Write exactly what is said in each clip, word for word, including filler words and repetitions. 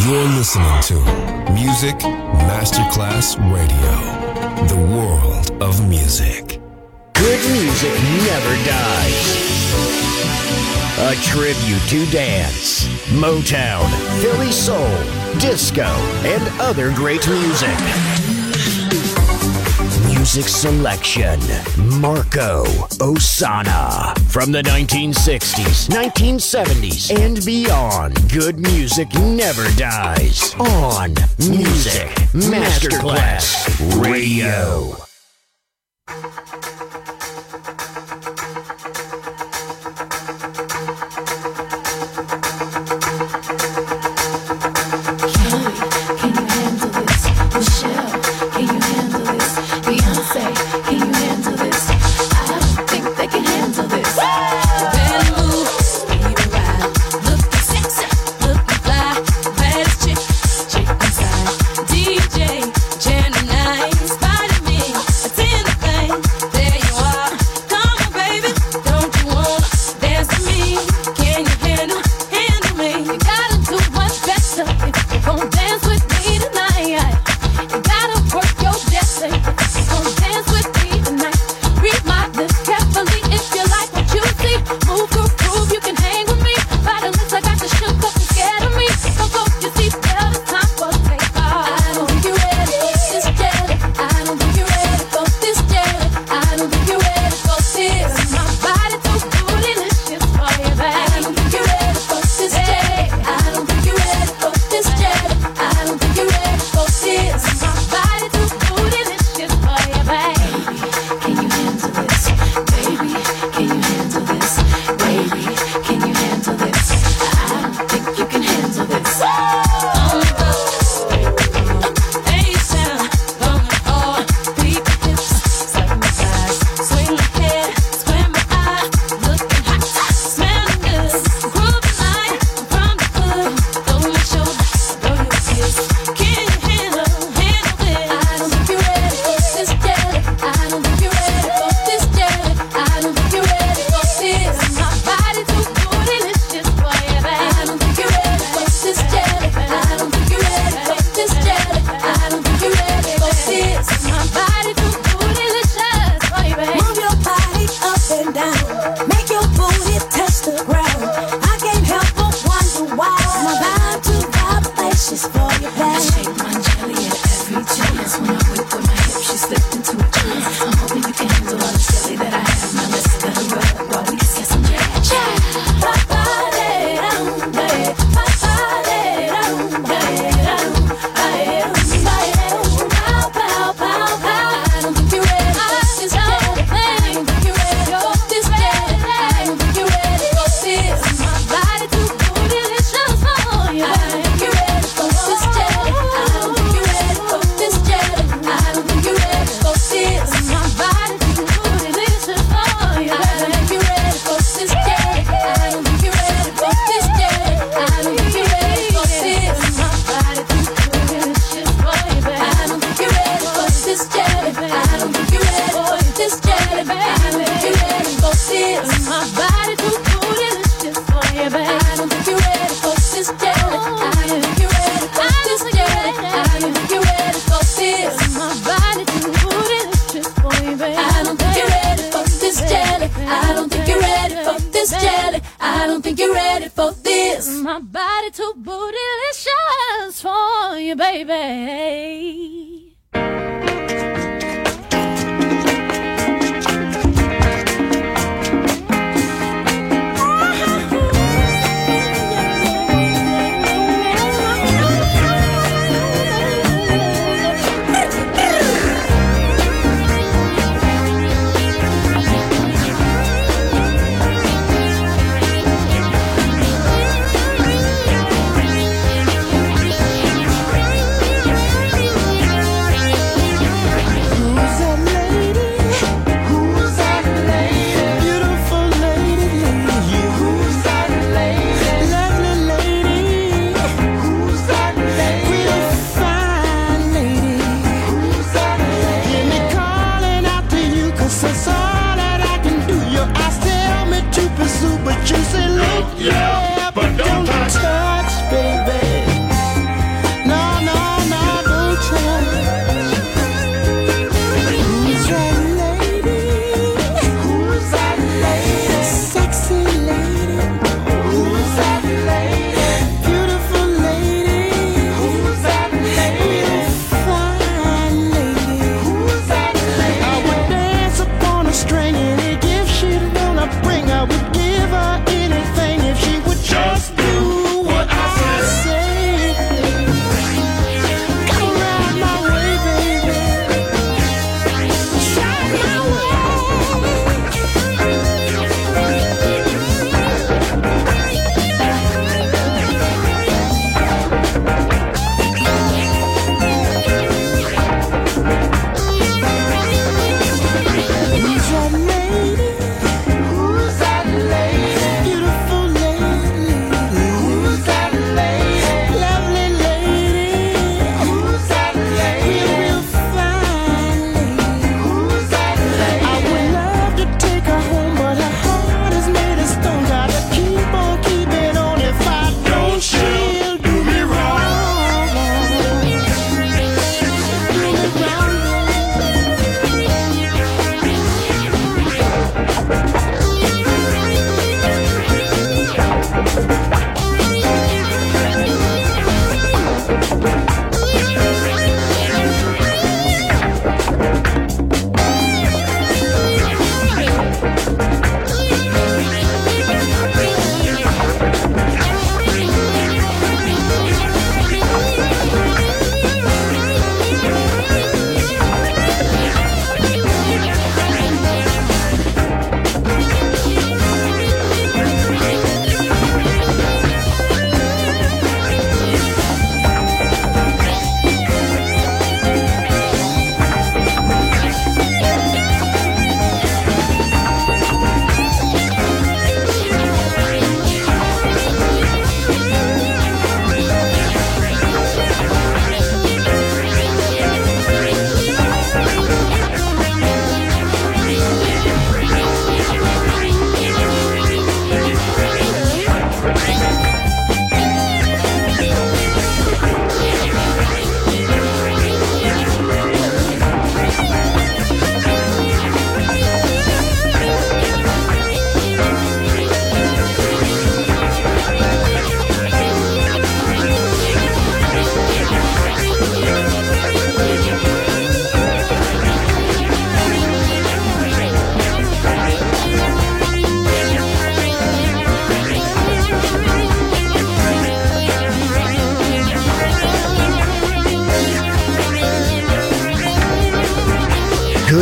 You're listening to Music Masterclass Radio, the world of music. Good music never dies. A tribute to dance, Motown, Philly soul, disco, and other great music. Music selection, Marco Ossanna. From the nineteen sixties, nineteen seventies, and beyond, good music never dies. On Music Masterclass Radio. We'll be right back.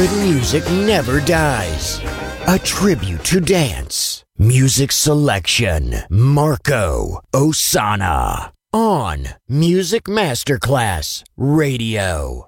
good music never dies. A tribute to dance. Music selection. Marco Ossanna. On Music Masterclass Radio.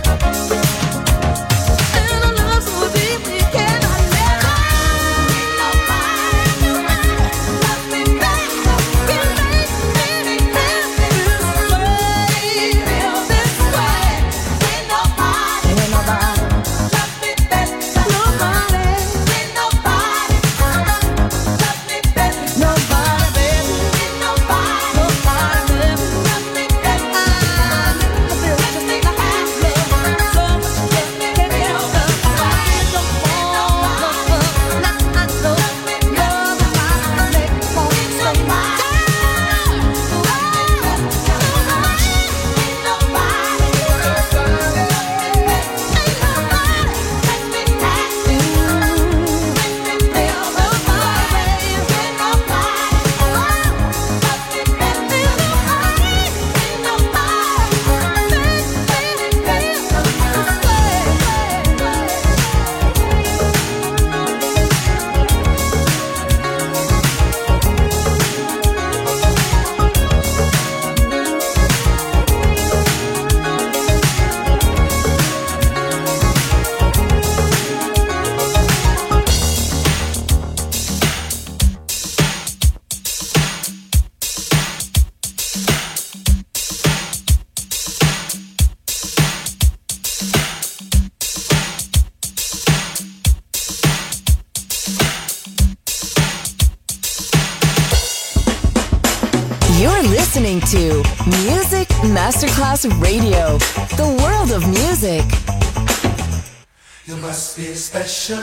You're listening to Music Masterclass Radio, the world of music. You must be a special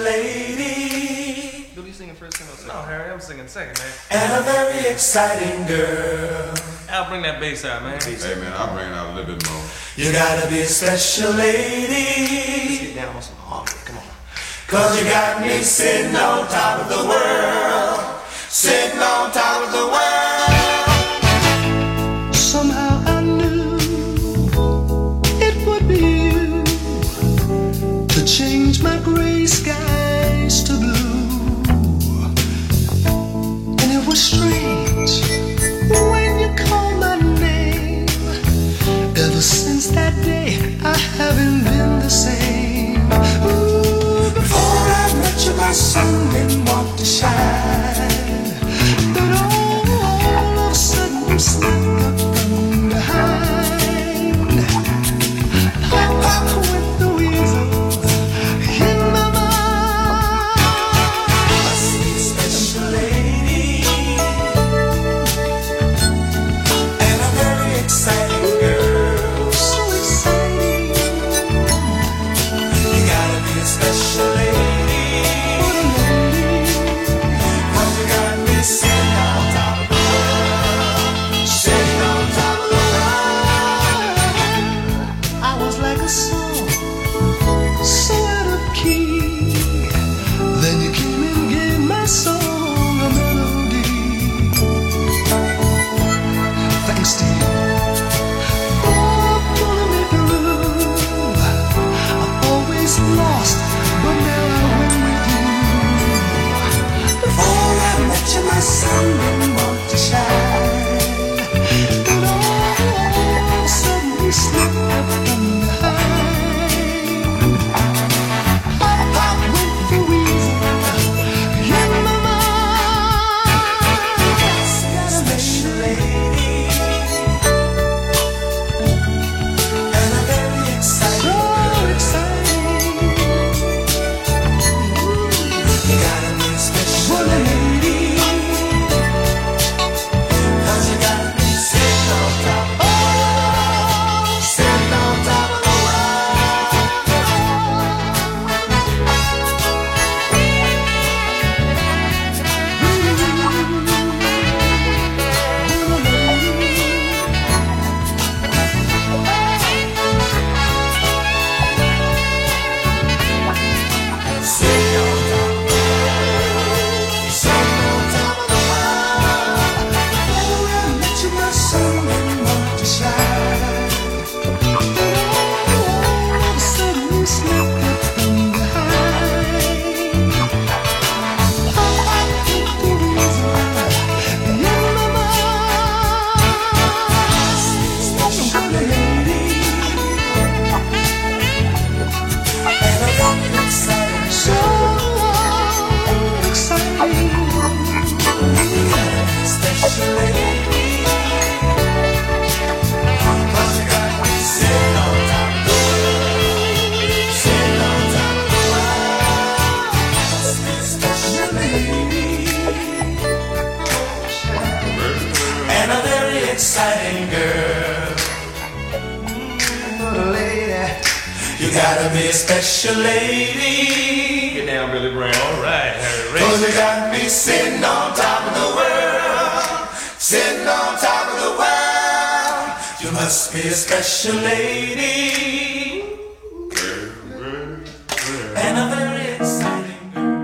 lady. You'll be singing first single. No, Harry, I'm singing second, man. And a very exciting girl. I'll bring that bass out, man. Hey, man, I'll bring it out a little bit more. You gotta be a special lady. Let's get down on some harmony. Come on. Cause you got me sitting on top of the world. Sitting on top of the world. Somehow I knew it would be you to change my gray skies to blue. And it was strange when you called my name. Ever since that day I haven't been the same. Ooh, before I met you my sun didn't want to shine, but all of a sudden you slipped up from behind. Pop, pop with the weasel in my mind. Must be a special lady. And a very exciting girl. So exciting. You gotta be a special lady. What a lady. Cause you got me sitting on top of the world. Sitting on top of the world. I was like a song, so out of key. Then you came and gave my song a melody. Thanks to you for pulling me through. I've always lost, but now I win with you. Before I met you, my sun didn't want to shine. And all of a sudden you slipped up from behind. gotta be a special lady. Get down, Billy Brown. All right, Harry Ray. Cause you got me sitting on top of the world, sitting on top of the world. You must be a special lady, and a very exciting girl.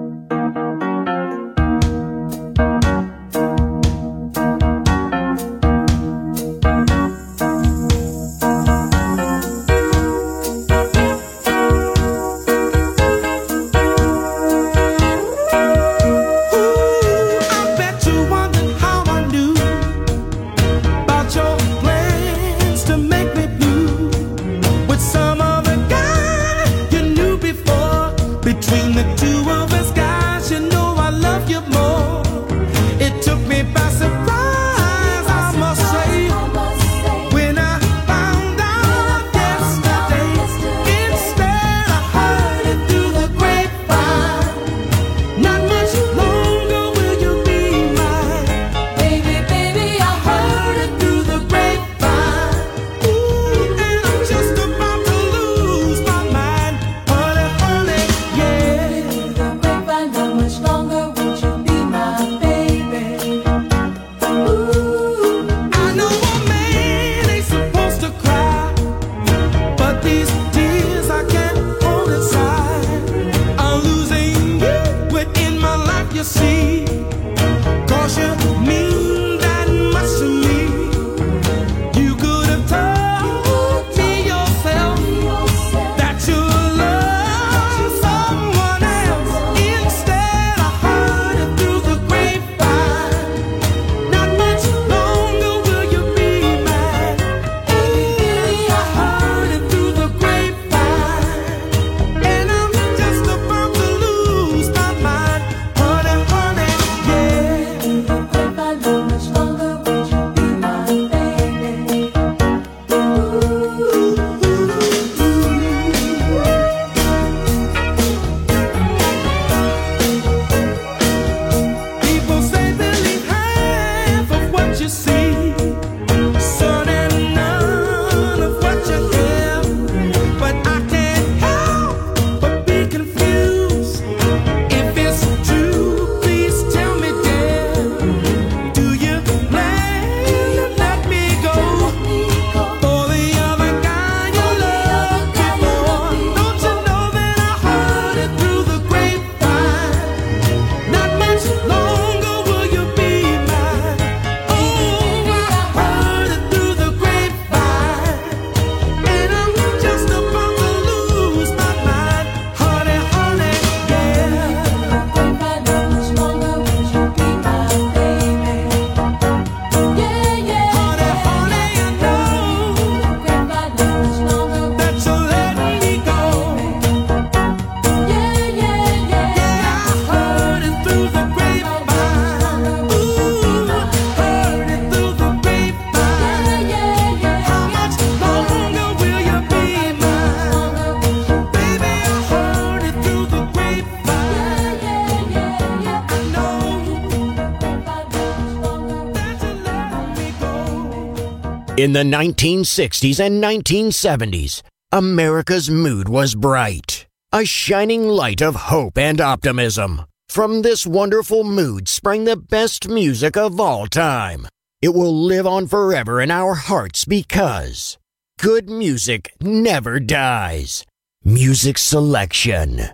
In the nineteen sixties and nineteen seventies, America's mood was bright, a shining light of hope and optimism. From this wonderful mood sprang the best music of all time. It will live on forever in our hearts because good music never dies. Music selection,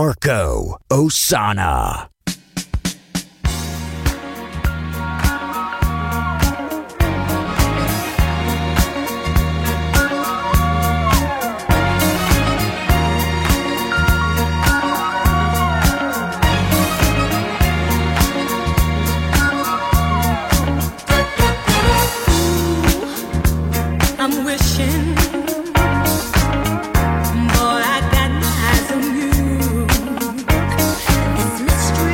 Marco Ossanna. I'm wishing, boy, I got my eyes on you. This mystery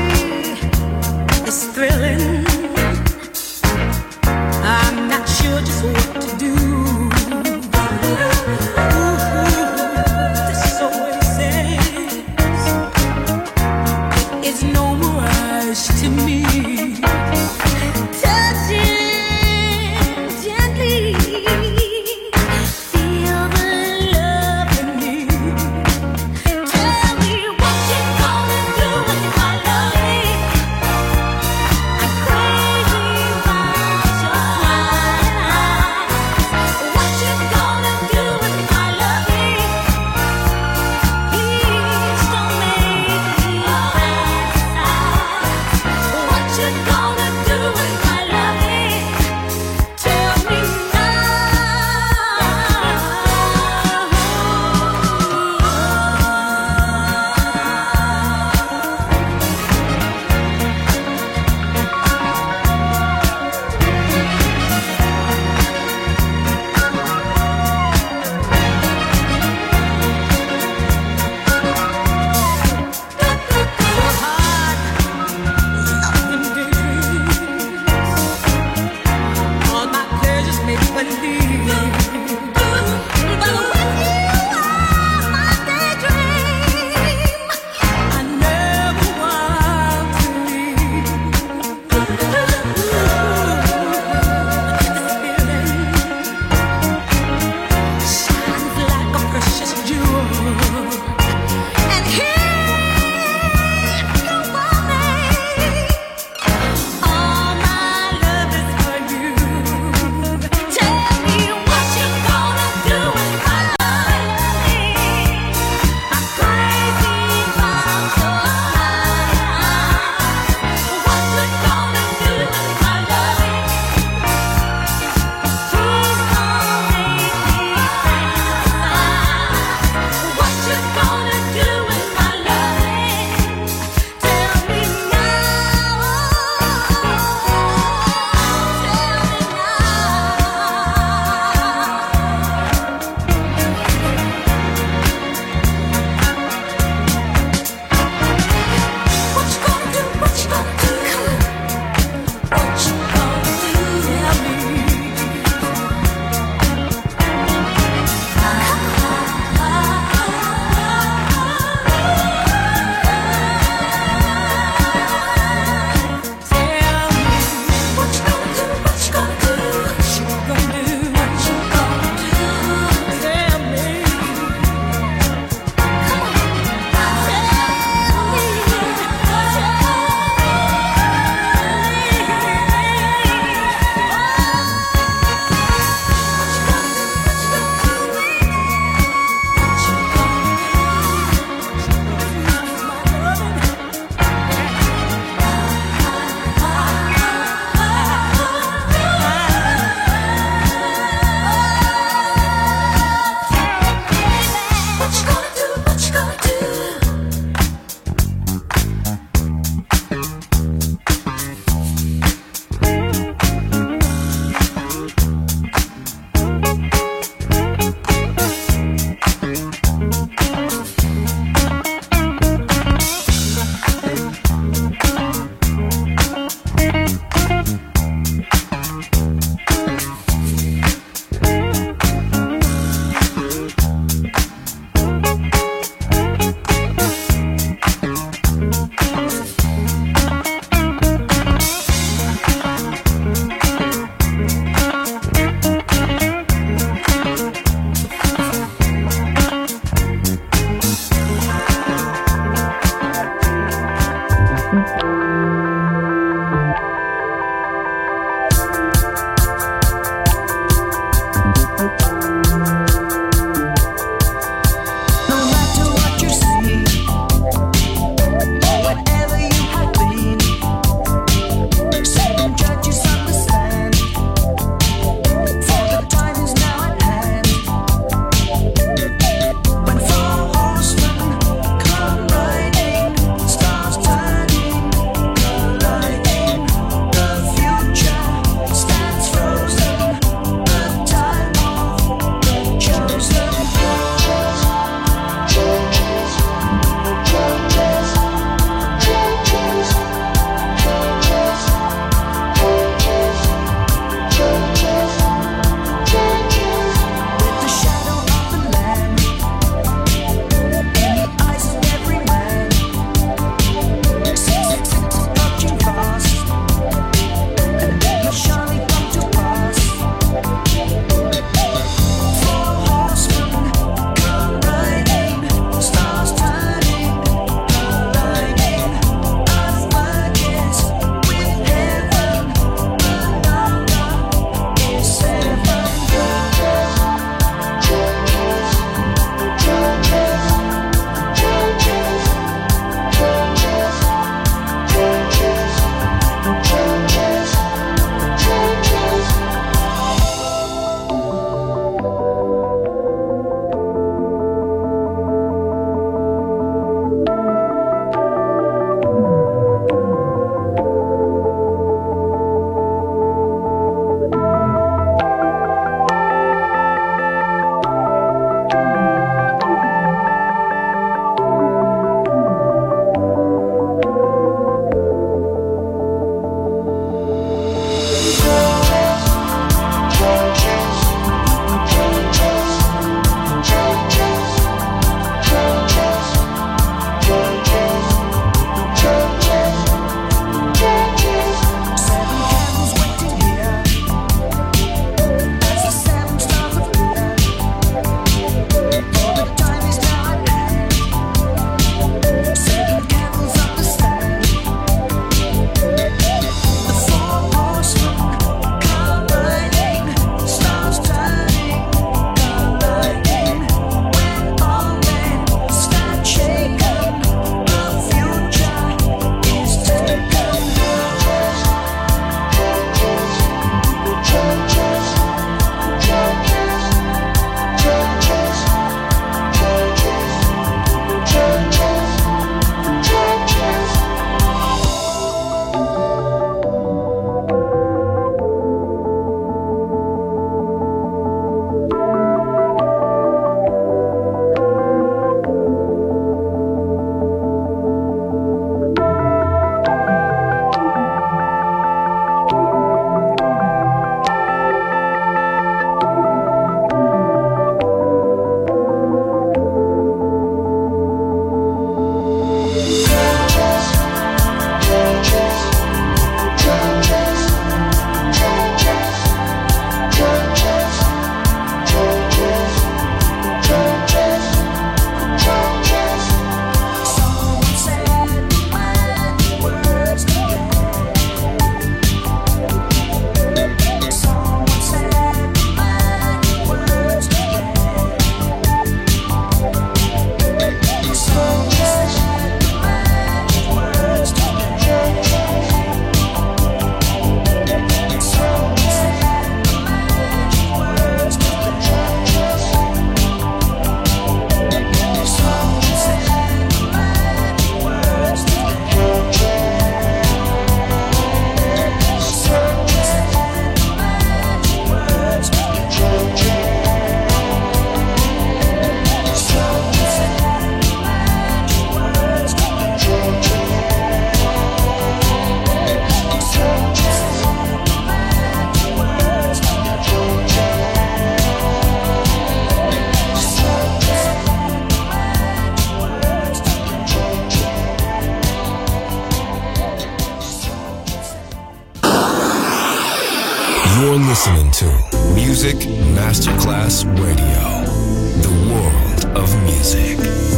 listening to Music Masterclass Radio, the world of music.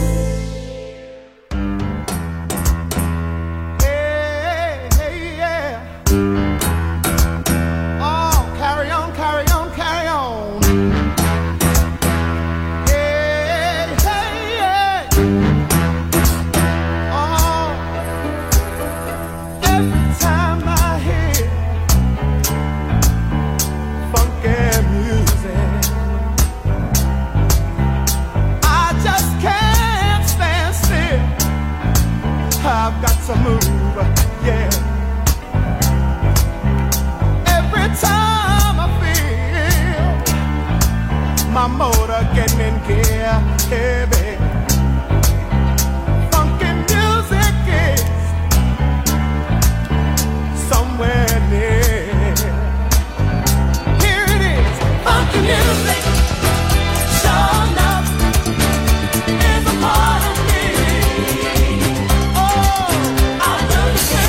Hey, hey, yeah. Oh, carry on, carry on, carry on. Hey, hey, yeah. Oh, every time I hear funky music, I just can't stand still. I've got to move, yeah. Every time I feel my motor getting in gear, heavy. Funky music is somewhere near. Here it is, funky music. Sure enough, is a part of me. Oh, I love it.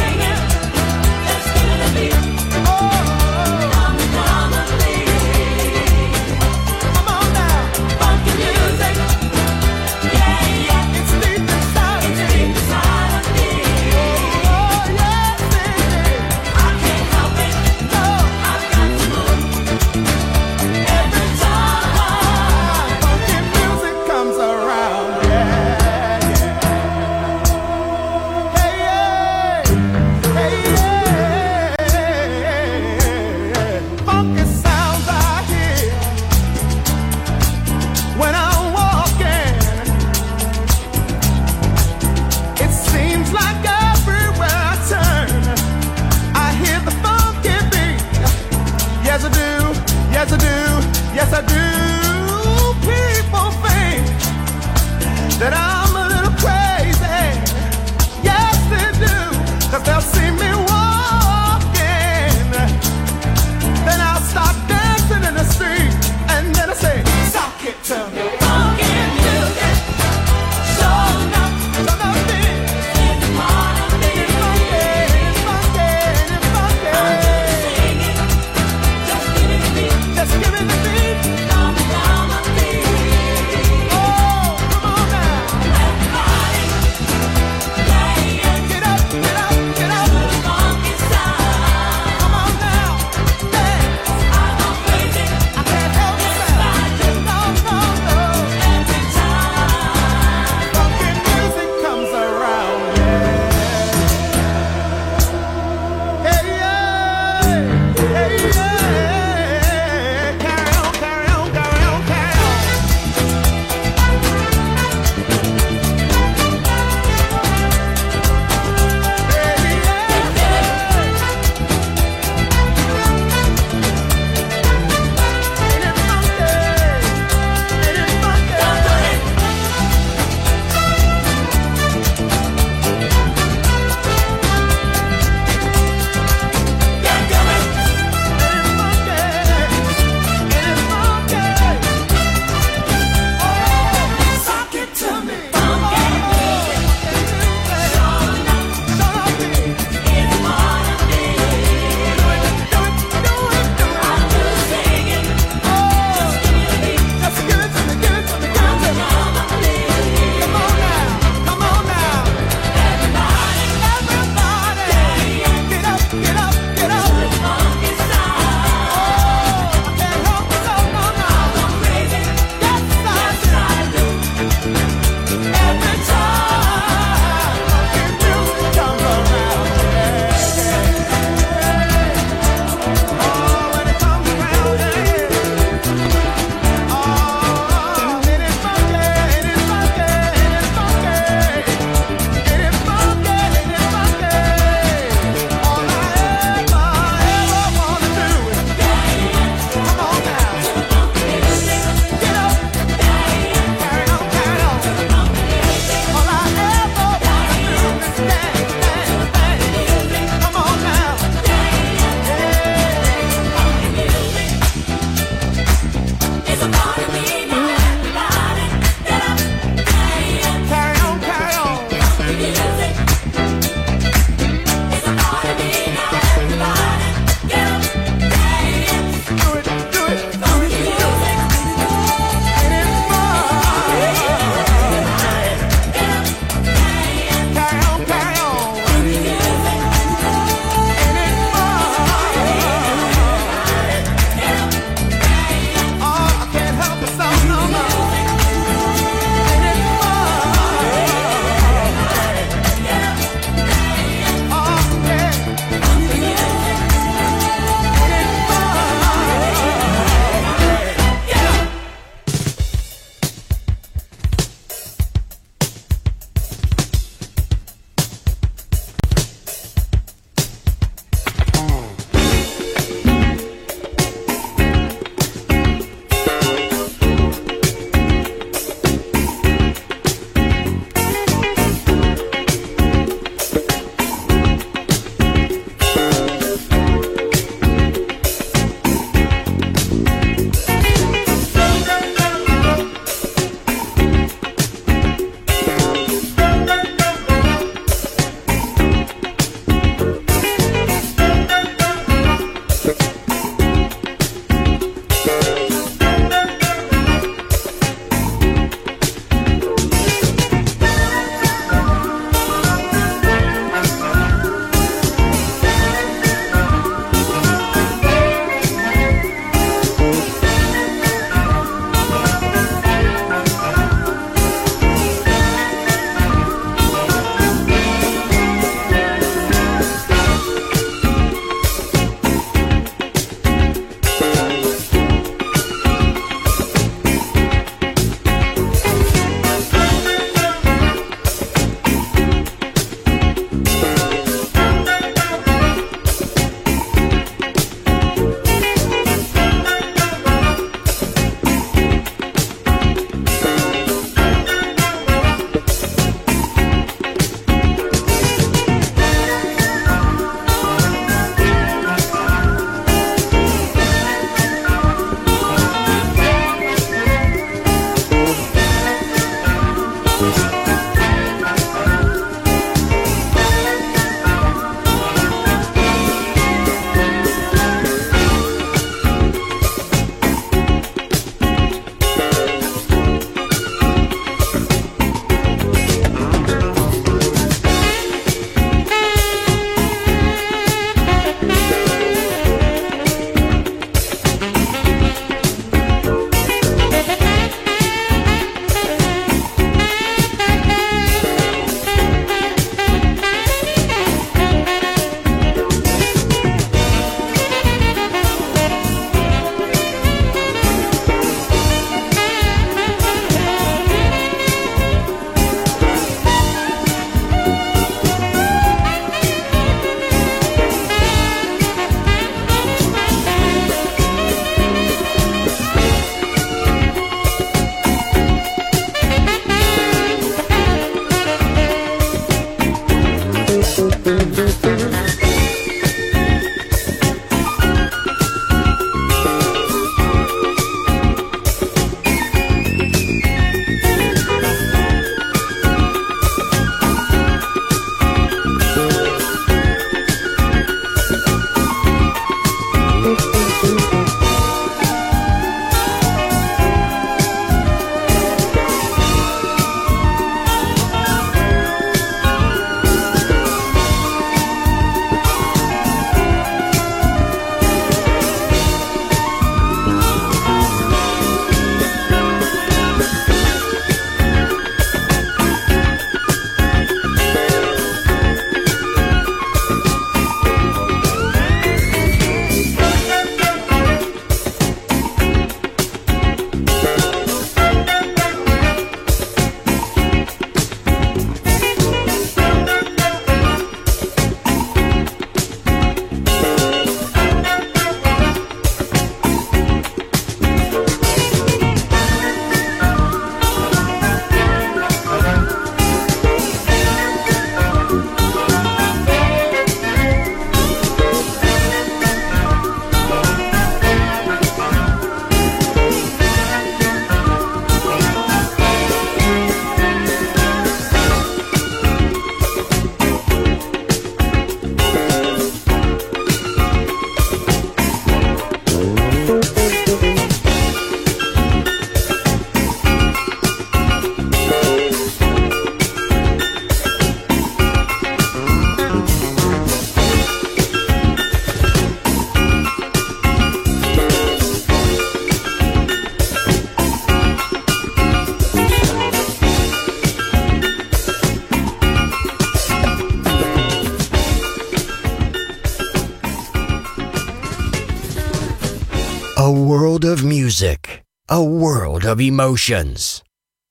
A world of music, a world of emotions.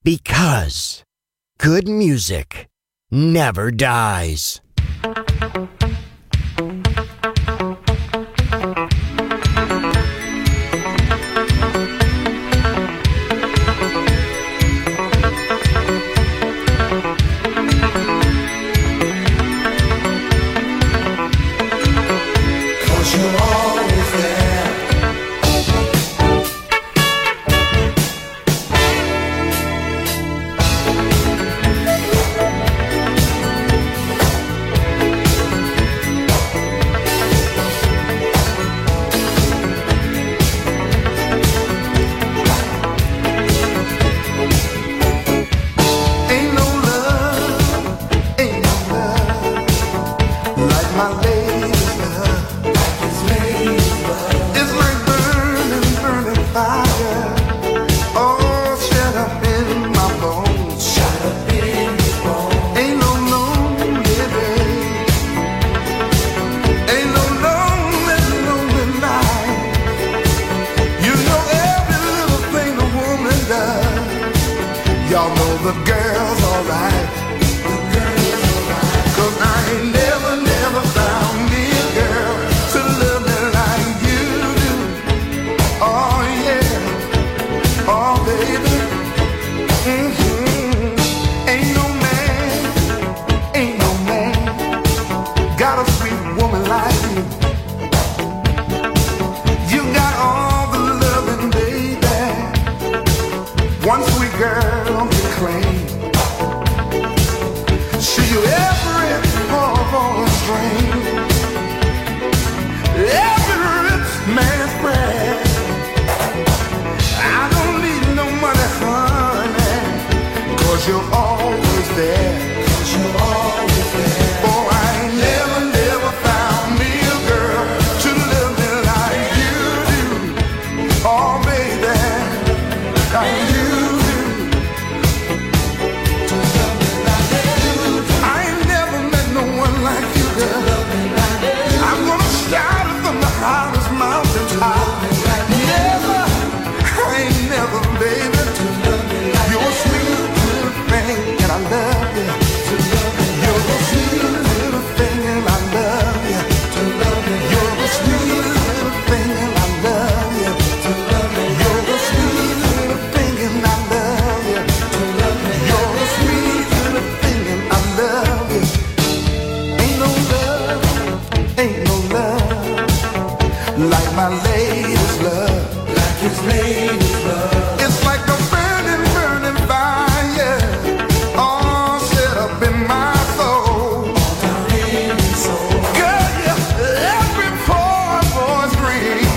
Because good music never dies. see you every poor string, every rich man's bread. I don't need no money, honey, 'cause you're always there. 'Cause you're always there. Oh, I ain't never, never found me a girl to love me like you do. Oh, baby, like you do. To love me like you do. I ain't never met no one like you, girl. I'm gonna shout it from the highest mountain top. Never, I ain't never, baby. You're a sweet little thing, and I love you. You're a sweet little thing, and I love you. You're a sweet little thing, and I love you. You're a sweet little thing, and I love you. You're a sweet little thing, and I love you. Ain't no love, ain't no love like my lady's love, like his lady's love. It's like a burning, burning fire, all set up in my soul. Girl, yeah, every poor boy's dream,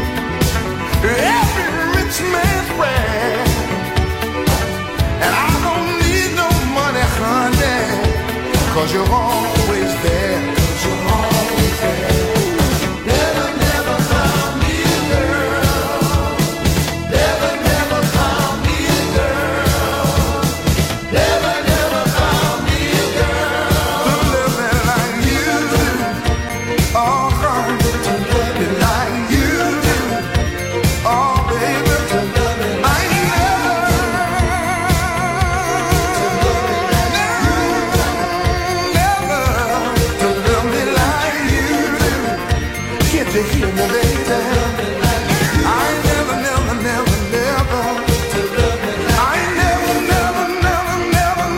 every rich man's prayer. And I don't need no money, honey, 'cause you're always there. 'Cause you're always there. Never, never found me a girl. Never, never found me a girl. Never, never found me a girl to love me like you do. Oh, honey, to love me like you do. Oh, baby, to love me like you do. Never to love me like you do. Can't you hear me, baby? I ain't never, never, never, never. I ain't never, never, never, never,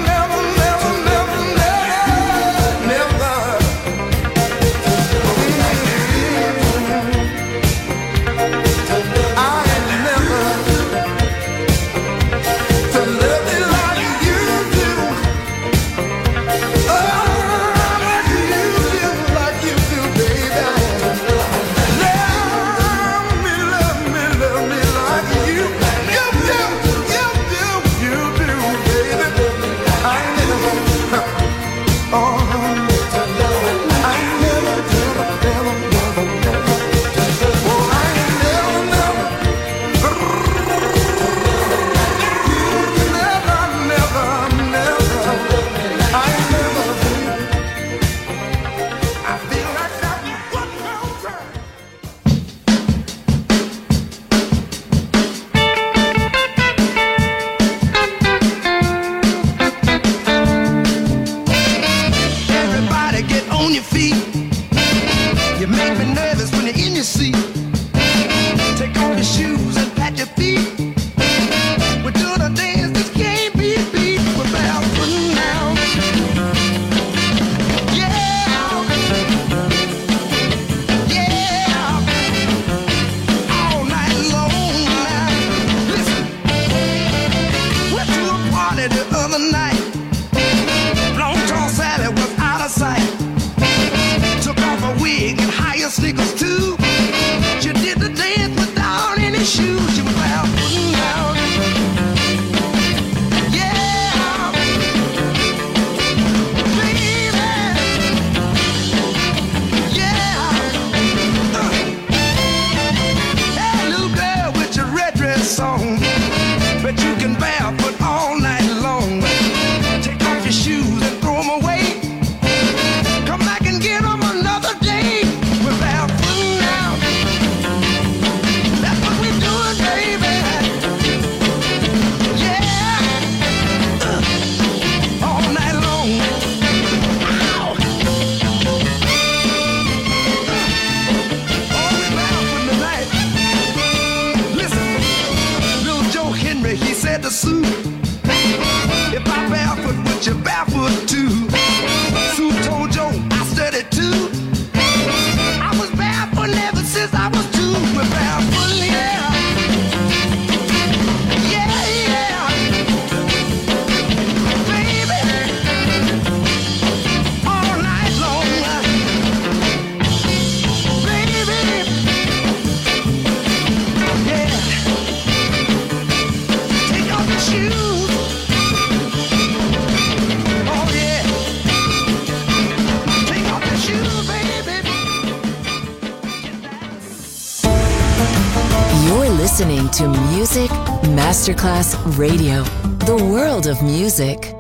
listening to Music Masterclass Radio, the world of music.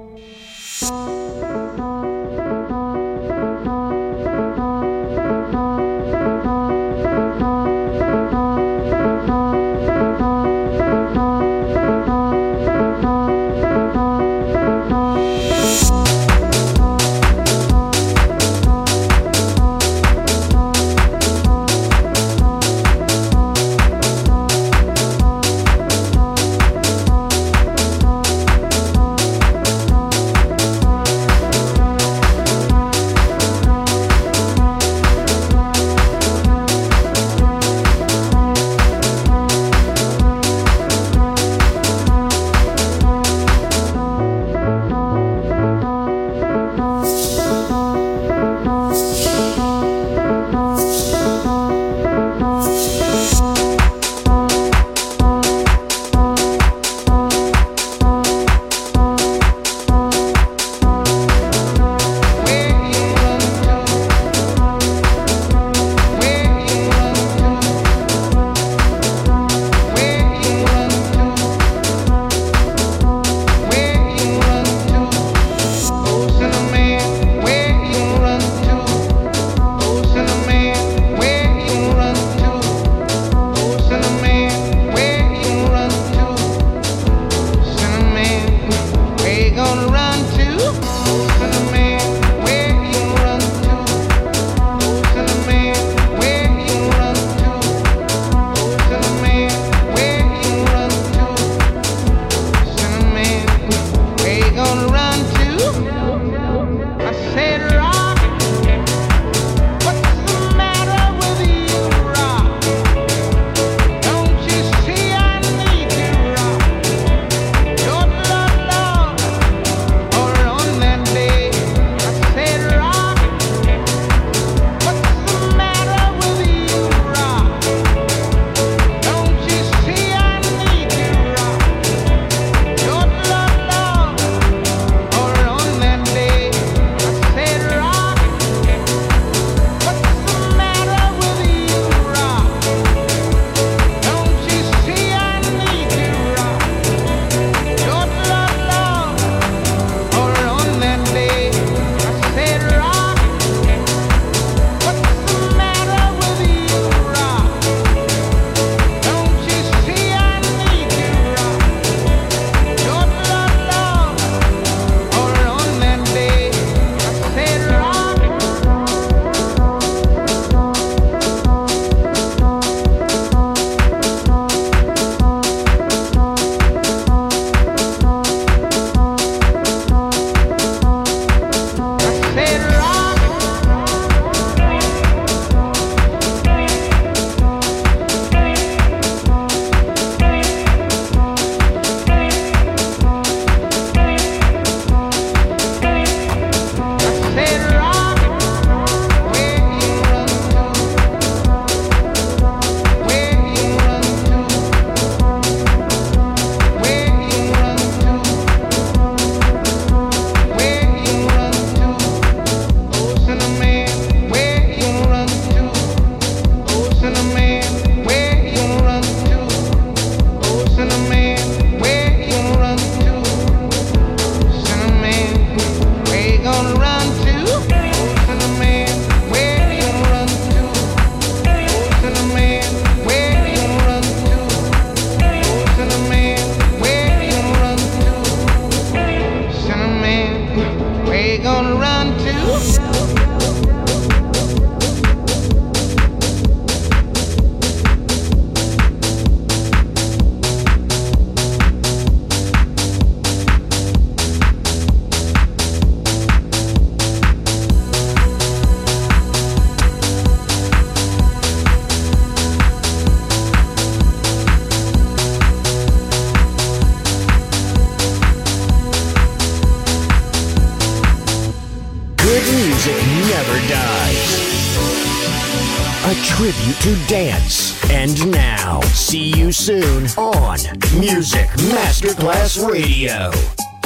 A tribute to dance. And now, see you soon on Music Masterclass Radio.